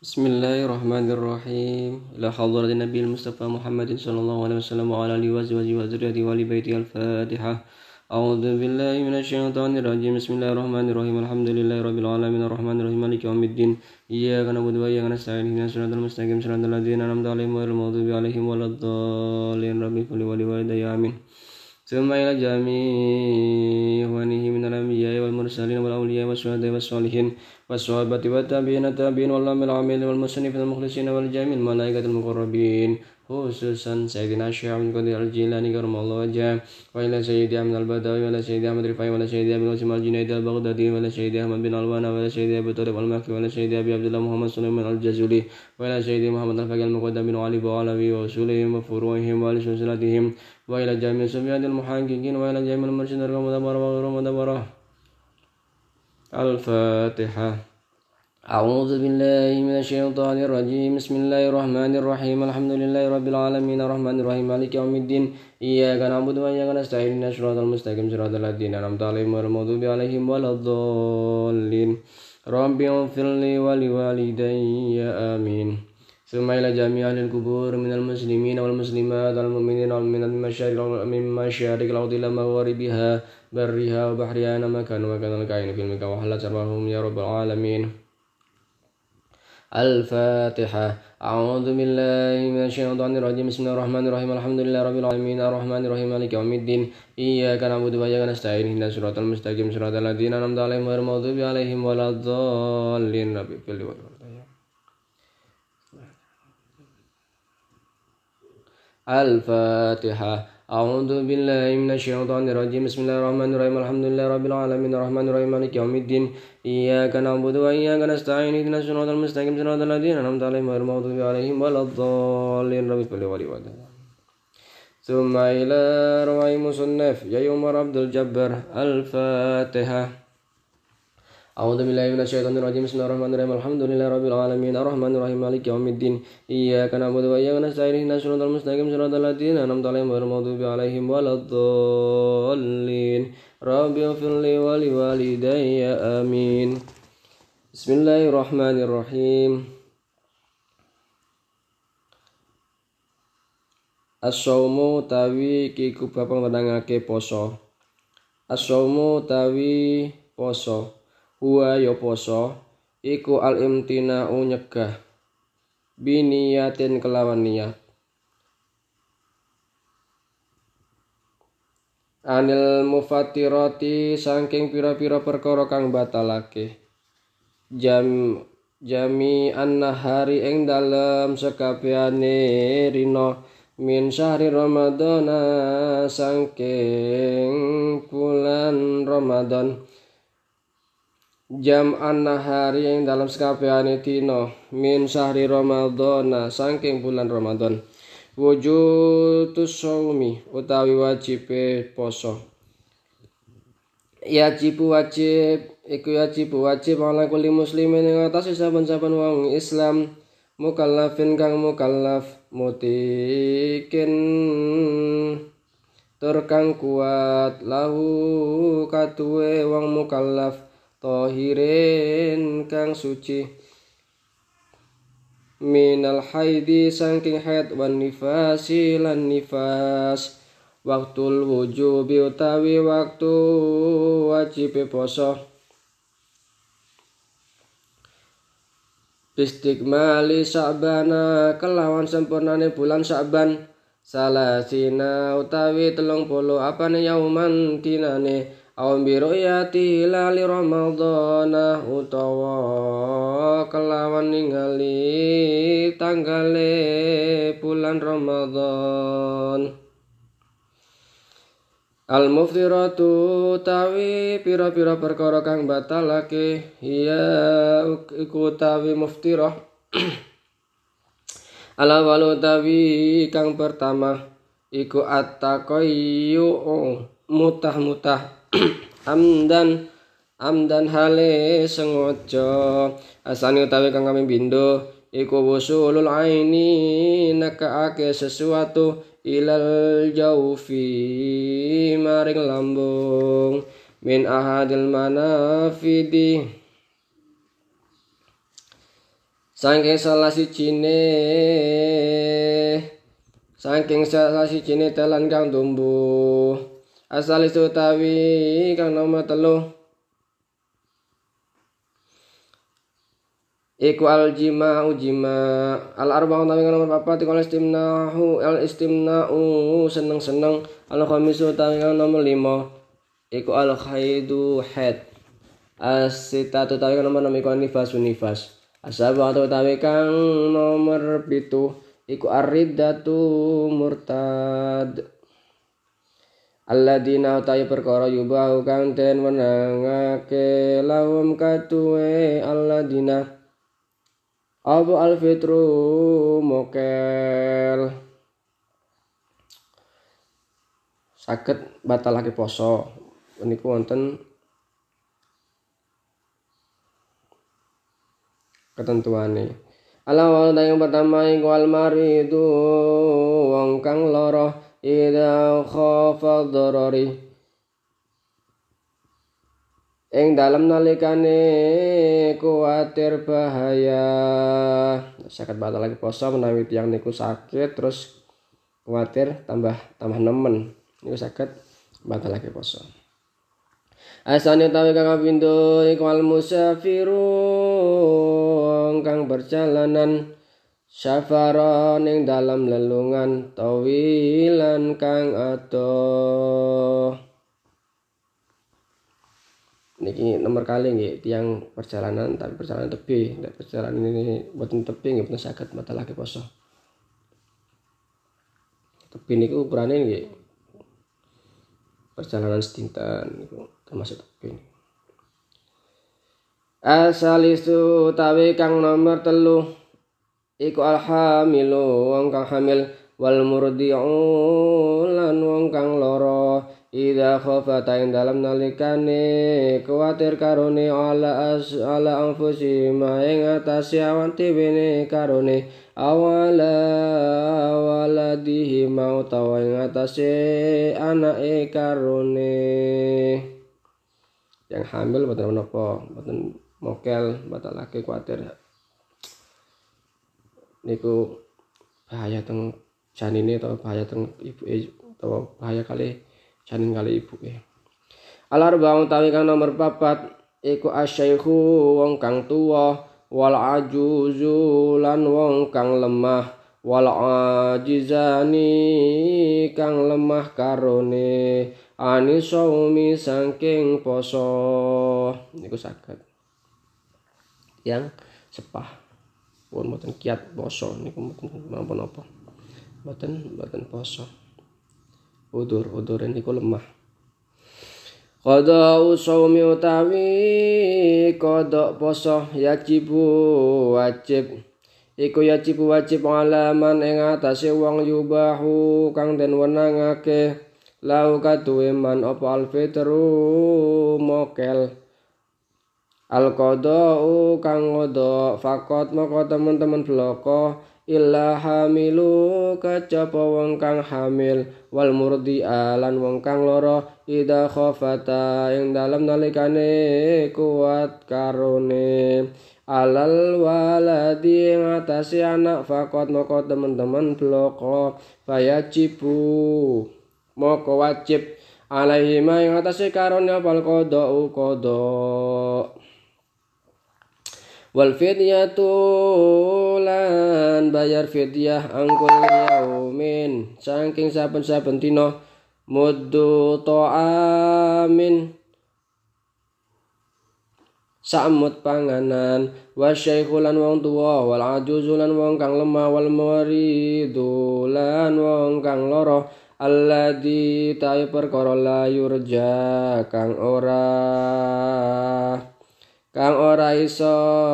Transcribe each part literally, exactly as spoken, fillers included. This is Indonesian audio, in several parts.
Bismillahirrahmanirrahim. Ila hadratin Nabi Mustafa Muhammadin sallallahu alaihi wasallam wa ala alihi wa sahbihi wa dzurriyyatihi wa li baiti al-Fatihah. A'udzu billahi minasyaitonir rajim. Bismillahirrahmanirrahim. Alhamdulillahirabbil alamin arrahmanir rahim maliki yaumiddin. Iyyaka na'budu wa iyyaka nasta'in. Ihdinas siratal mustaqim siratal ladzina an'amta 'alaihim ghairil maghdubi 'alaihim waladdallin. Rabbi qul wa li walidayya amin. Thumma ila jami'i ikhwanihi minal anbiya'i wal mursalin wal awliya'i wasyuhada'i wassalihin wassahabati wattabi'in tabi'in wal amil amil wal musannifin wal mukhlisin wal jami'il malaikatil muqarrabin khususan Sayyidina Syekh Abdul Qadir Al-Jilani karamallahu wajhah wa ila Sayyidi Ahmad Al-Badawi wa ila Sayyidi Ahmad Rifai wa ila Sayyidi Abi Qasim Al-Junaidi Al-Baghdadi wa ila Sayyidi Ahmad bin Alwana wa ila Sayyidi Abu Talib Al-Makki wa ila Sayyidi Abi Abdullah Muhammad Sulaiman Al-Jazuli wa ila Sayyidi Muhammad Al-Faqih Al-Muqaddam bin Ali wa alawi wa usulihim wa furu'ihim wa li silsilatihim wa ila jami'i subyadil muhaqqiqin wa ila jami'il mursyidin wa mudabbara wa ghairu mudabbara. Al-Fatihah. A'udzu billahi minasyaitonir rajim. Bismillahirrahmanirrahim. Alhamdulillahi rabbil alamin arrahmanir rahim maliki yaumiddin. Iyyaka na'budu wa iyyaka nasta'in. Ihdinas siratal mustaqim siratal ladzina an'amta 'alaihim ghairil maghdubi 'alaihim waladdallin. Rabbi ighfirli wa liwalidayya amin. Tsumma ila jami'i ahlil qubur minal muslimin wal muslimat wal mu'minin wal mu'minat min masyariqil ardi ila magharibiha barriha wa bahriha ma kanu wa kana kainu fil mika wa halat sarwahum ya rabbal alamin. Al-Fatihah. A'udzu billahi minasyaitonir rajim. Bismillahirrahmanirrahim. Alhamdulillahi rabbil alamin arrahmanir rahim maliki yaumiddin. Iyyaka na'budu wa iyyaka nasta'in. Ihdinas siratal mustaqim siratal ladzina an'amta 'alaihim ghairil maghdubi 'alaihim waladdallin. Rabbi fil Al-Fatihah. A'udzu billahi minasyaitonir rajim. Bismillahirrahmanirrahim. Alhamdulillahi rabbil alamin arrahmanir rahim maliki yaumiddin. Iyyaka na'budu wa iyyaka nasta'in. Ihdinas siratal mustaqim siratal ladzina an'amta 'alaihim ghairil maghdubi 'alaihim waladdallin. Rabbil wali wali. Tsumma ila rawai musannaf ya Umar Abdul Jabbar. Al-Fatihah. A'udzu billahi minasyaitonir rajim. Bismillahirrahmanirrahim. Alhamdulillahi rabbil alamin arrahmanir rahim maliki yaumiddin. Iyyaka na'budu wa iyyaka nasta'in. Ihdinas siratal mustaqim siratal ladzina an'amta 'alaihim ghairil maghdubi 'alaihim waladdallin. Rabbi ighfirli wa liwalidayya amin. Bismillahirrahmanirrahim. As-saumu tawi kiku bapak menangake poso. As-saumu tawi poso. Huwa ya poso iku al-imtina'u nyegah biniyatin kelawan niat anil mufatirati saking pira-pira perkara kang batalake jam jami an-nahari ing dalem sekabehane rina min syahri ramadhana saking bulan Ramadan jam an-nahari yang dalam sekabehane dina min syahri ramadhana saking bulan Ramadan wujudus shaumi utawi wajibe poso yajibu wajib iku yajibu wajib ala kulli muslimin ing atase saben-saben wong Islam mukallafin kang mukallaf mutikin tur kang kuat lahu katuwe wong mukallaf tahirin kang suci minal haidi saking haid wan nifasi lan nifas waktul wujubi utawi waktu wajib poso bistikmali Sya'bana kelawan sempurnane bulan Sya'ban salasina utawi telung puluh apane yauman dinane aw biroyati hilali ramadhana utawa kelawan ningali tanggale bulan Ramadan al muftiratu tawi pira-pira perkara kang batalake ya iku tawi muftirah ala walu tawi kang pertama iku at-taqayyu mutah-mutah amdan amdan hale sengaja asane utawi kang kami bindo iku wusulul aini nakaake sesuatu ilal jaufi maring lambung min ahadil manafidi saking salah sijine saking salah sijine dalan kang tumbuh asal utawi kang nomor telu iku al jima ujima al arba'u utawi kang nomor papat iku al istimna'u al istimna'u seneng-seneng al khamisu utawi kang nomor lima iku al khaidu haid as-sitatu utawi kang nomor enam iku nifas nifas asabatu utawi kang nomor pitu iku ar-riddatu murtad alladina utawi perkara yubahu kang den wenangake lahum katuwe alladina abu al-fitru mokel saged batalake poso niku wonten ketentuane. Alawal yang pertama iku al maridu wong kang lara ida khafa dharari ing dalem nalikane kuwatir bahaya saged batalake poso menawi tiyang niku sakit terus kuwatir tambah tambah nemen niku saged batalake poso. Asane utawi kang kapindho iku al musafiru kang berjalanan safara ning dalam lelungan tawilan kang adoh. Niki nomor kali nggih tiyang perjalanan tapi perjalanan tepi, nek perjalanan ini boten tepi nggih boten saged batalake poso. Tepi niku ukurane nggih perjalanan sedinten niku termasuk tepi. Asalisu utawi kang nomor telu iku alhamilu wong kang hamil wal murdi'u lan wong kang lara ida khafata ing dalam nalikane kuwatir karone ala as ala anfusihim ing atase awan dhewe karone awala waladihi mau tawa ing atase anake karone yang hamil boten menapa boten mokel batalake kuwatir niku bahaya teng janine atau bahaya teng ibuke atau bahaya kali janin kali ibuke. Al-arba'u utawi kang nomor papat iku asyaikhu wong kang tuwa wal ajuzu lan wong kang lemah wal ajizani kang lemah karone anisaumi saking poso niku saged yang sepah pun mboten kiat poso niku mboten napa-napa mboten mboten poso udur udur niku lemah qada usumi utawi qada poso yajibu wajib iku yajibu wajib alaman ing atase wong yubahu kang den wenangake lau kaduwe man apa alfitru mokel al-qada'u kang ngodo fakot moko teman-teman bloko illa hamilu kacapa wong kang hamil wal murdi'a lan wong kang lara ida khafata ing dalem nalikane kuat karone alal waladi ngatasi anak fakot moko teman-teman bloko fayajibu moko wajib alaihi ma ing atase karone apal qada'u qada' wal fidyatu lan bayar fidyah angkul yaumin saking saben-saben dina muddu ta'amin samut panganan wasyaikhu lan wong tuwa wal ajuzu lan wong kang lemah wal maridu lan wong kang lara alladzi ta'i perkara la yurja kang ora kang ora iso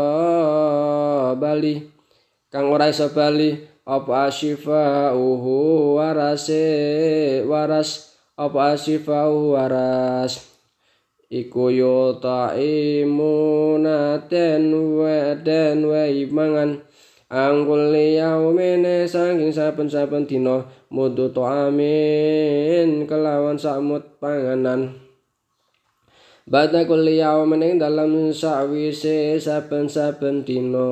bali kang ora iso bali apa asifauhu warase waras apa asifauhu waras iku yo taimuna den wa den wa mangan angkul yaumene saking saben-saben dina mudu ta'amin kelawan samut panganan Ba'da kulli yaumin ing dalam sawise saben-saben dina.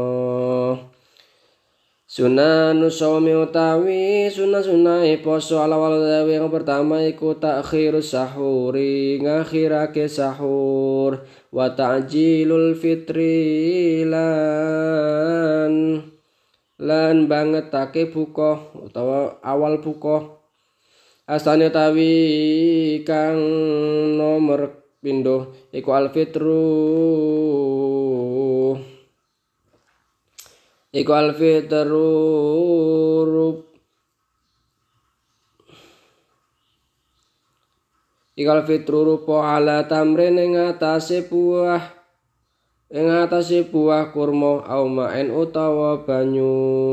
Sunanu shaumi utawi sunah-sunahe poso ala-ala dawe yang pertama iku takhirus sahuri ngakhirake sahur wa ta'jilul fitri lan lan bangetake buka utawa awal buka. Asane tawi kang nomor pindho iku al-fitru Iku al-fitru Iku al-fitru rupa ala tamrin ing atase buah ing atase buah kurma au ma'en utawa banyu.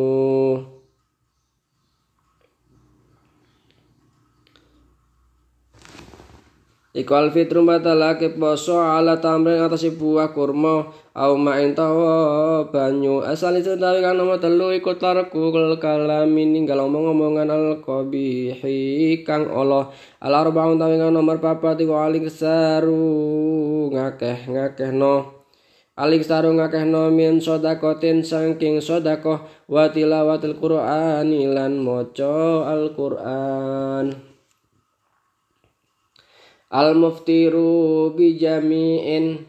Iku al-fitru batalake poso ala tamrin atase buah kurma au ma'in tawa banyu. Asal itu tawi kang nomor telu iku tarku kalami ninggal omong-omongan al-qabihi kang Allah. Al-arba'un tawi kang nomor papat iku alik saru ngakeh-ngakehno alik saru ngakehno min sodakotin saking sodakoh wa tilawatil qur'ani lan maca al-Qur'an. Al-muftiru bijami'in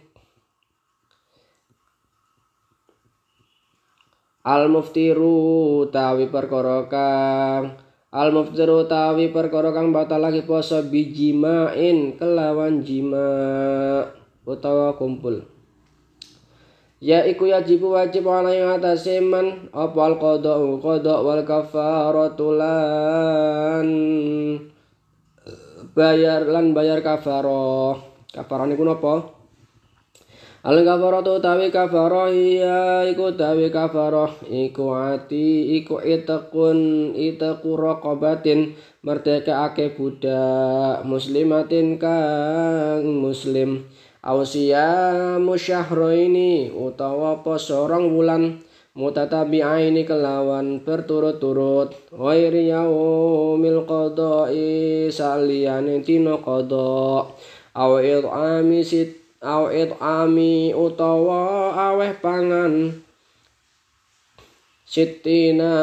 Al-muftiru tawi perkara kang Al-muftiru tawi perkara kang batalake poso bijima'in kelawan jima utawa kumpul. Ya iku yajibu wajib ana ing atase man apa al-qada qada wal kafaratu lan bayar lan bayar kafaroh. Kafaroh niku napa? Al kafaroh utawi kafaroh iya iku utawi kafaroh iku ati iku itakun itaku raqabatin merdekaake budak muslimatin kang muslim ausia musyahraini utawa poso rong wulan mutatabi'aini kelawan berturut-turut ghairi yaumil qada'i saliyane dina qada aw it'ami sit aw it'ami utawa aweh pangan sitina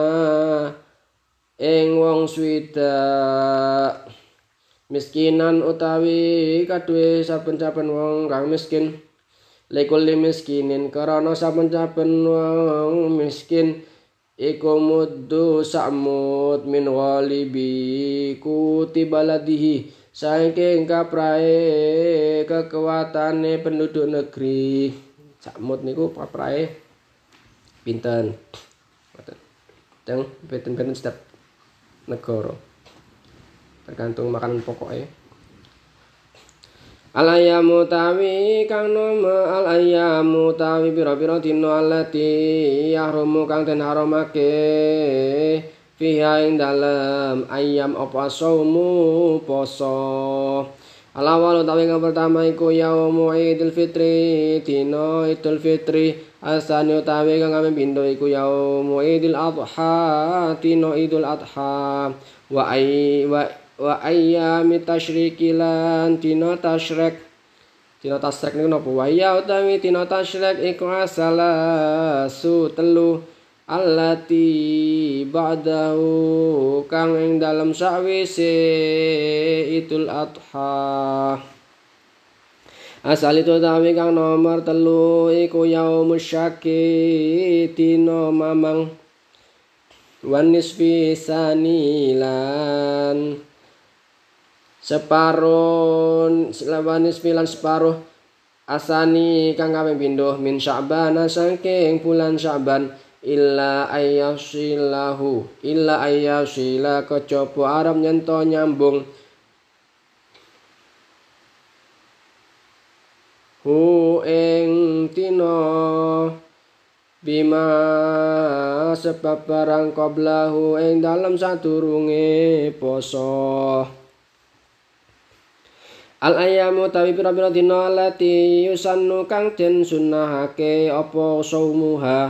ing wong swidak miskinan utawi kaduwe saben-saben wong kang miskin. Lekul miskinin karena saben-saben wong miskin iku muddu sa'mud min ghalibi kutibaladihi saking kaprae kekuatane penduduk negeri. Sa'mud niku kaprae pinten teng pinten-pinten setiap negara tergantung makanan pokoknya. Al-ayyamu tawi kang nama al-ayyamu tawi pira-pira dina alati yahrumu kang den haramake fiha ing dalem ayyam apa saumu poso. Al-awwal tawi kang pertama iku yaumu Idul Fitri dina Idul Fitri. Asani tawi kang kami pindho iku yaumu Idul Adha dina Idul Adha wa ay wa wa ayyami tasyriki lan dina tasyrek. Dina tasyrek niku napa? Wa ya utawi dina tasyrek iku asalasu telu allati ba'dahu kang ing dalem sakwise Idul Adha. Asal itu tawi kang nomor telu iku yaumus syaki dina mamang wan nisfi sanilan separuh lawanis pilan separuh asani kang kaping pindho min Sya'ban saking bulan Sya'ban illa ayyasilahu illa ayyasila kejaba arep nyento nyambung hu ing dina bima sebab barang qablahu ing dalem sadurunge poso. Al-ayyamu tawi pira-pira dina lati yusannu kang den sunahake apa saumuha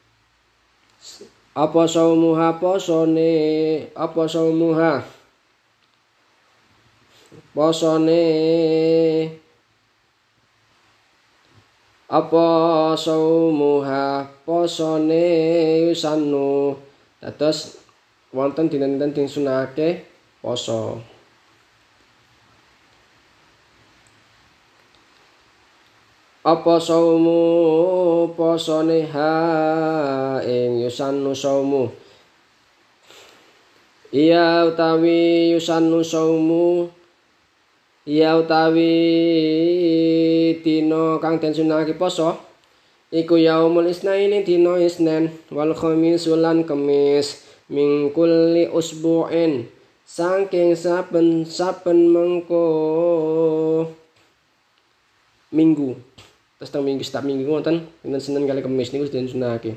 apa saumuha posone apa saumuha posone apa saumuha posone yusannu dados wonten dinten-dinten sing sunahake poso. Apa saumu posone ha ing yusannu saumu iya utawi yusannu saumu iya utawi dina kang den sunahake poso iku yaumul isnaini dina isnen wal khamis lan kemis min kulli usbu'in saking saben-saben mengko minggu. Terus teng minggu setiap minggu wonten dinten Senin kali Kamis niku den sunahake.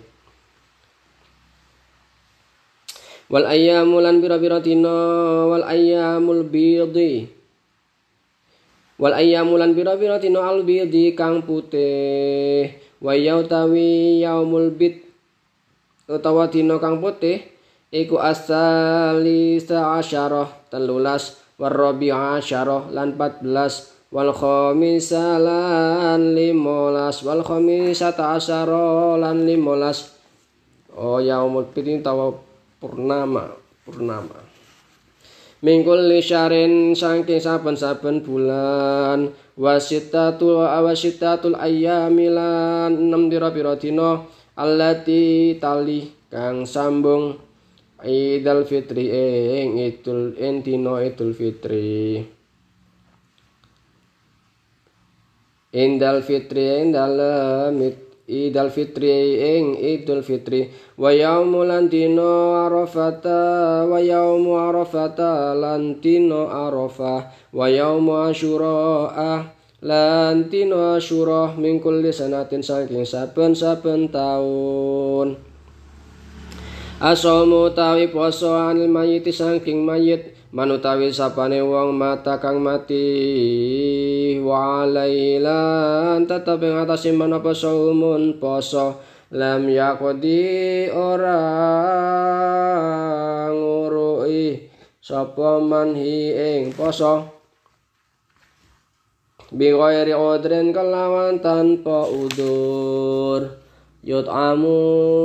Wal ayyamu lan pira-pira dina wal ayyamul bidhi. Wal ayyamu lan pira-pira dina al bidhi kang putih. Wa yautawi yaumul bid utawa dina kang putih iku asali sa'asyarah telulas warabi'a asyarah lan empat belas wal khamisalan limolas wal khamisata asyara lan limolas. Oh yaumul bid tawa purnama purnama mingkul lisyarin saking saben-saben bulan wasitatul awasitatul ayyamilan enam pira-pira dina allati tali kang sambung Idul Fitri ing idul ing dina Idul Fitri. Indal Fitri ing dalem Idul Fitri ing Idul Fitri wa yaumul dina Arafata wa yaumu Arafata lan dina Arafah wa yaumu Asyura lan dina Asyura min kulli sanatin saking saben-saben taun. Asomu tawi poso anil mayiti saking mayit manutawi sapane wong mata kang mati wa alailan tetep ing atase menapa saumun poso lam yaqdi ora ngurui sapa manhi ing poso bi ghairi udrin kelawan tanpa udur yut'amu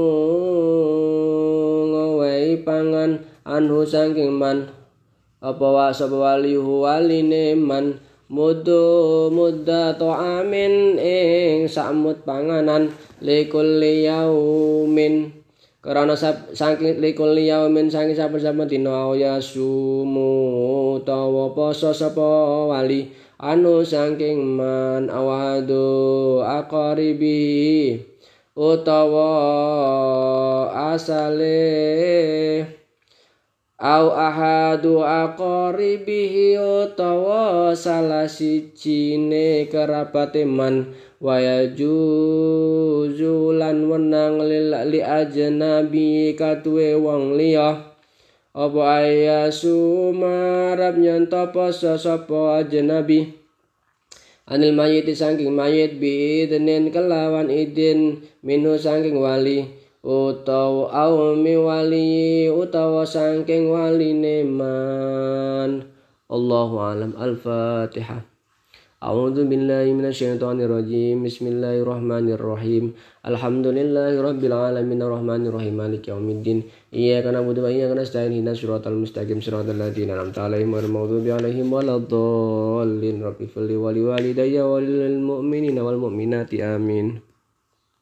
ngowehi pangan anhu saking man apa wa sapa walihu waline man mudu mudda ta'amin ing samut panganan likulli yaumin karena saking likulli yaumin saking saben-saben dina ya sumu tawa poso sapa wali anu saking man awadu aqaribi utawa asale au ahadu aqaribihi utawa salah sijine kerabate man wa yajuzulan wenang li ajnabi katuwe wong liya apa ayasu marab nyanto poso sapa ajnabi anil mayiti saking mayit bi idnin kelawan idin minhu saking wali utawa aumi wali utawa saking waline man. Allahu alam. Al-Fatihah. A'udzu billahi minasyaitonir rajim. Bismillahirrahmanirrahim. Alhamdulillahi rabbil alamin arrahmanir rahim maliki yaumiddin. Iyyaka na'budu wa iyyaka nasta'in ihdinas siratal mustaqim siratal ladzina an'amta 'alaihim ghairil maghdubi 'alaihim waladdallin. Rabbi fili wa liwalidayya wa lil mu'minina wal mu'minati amin.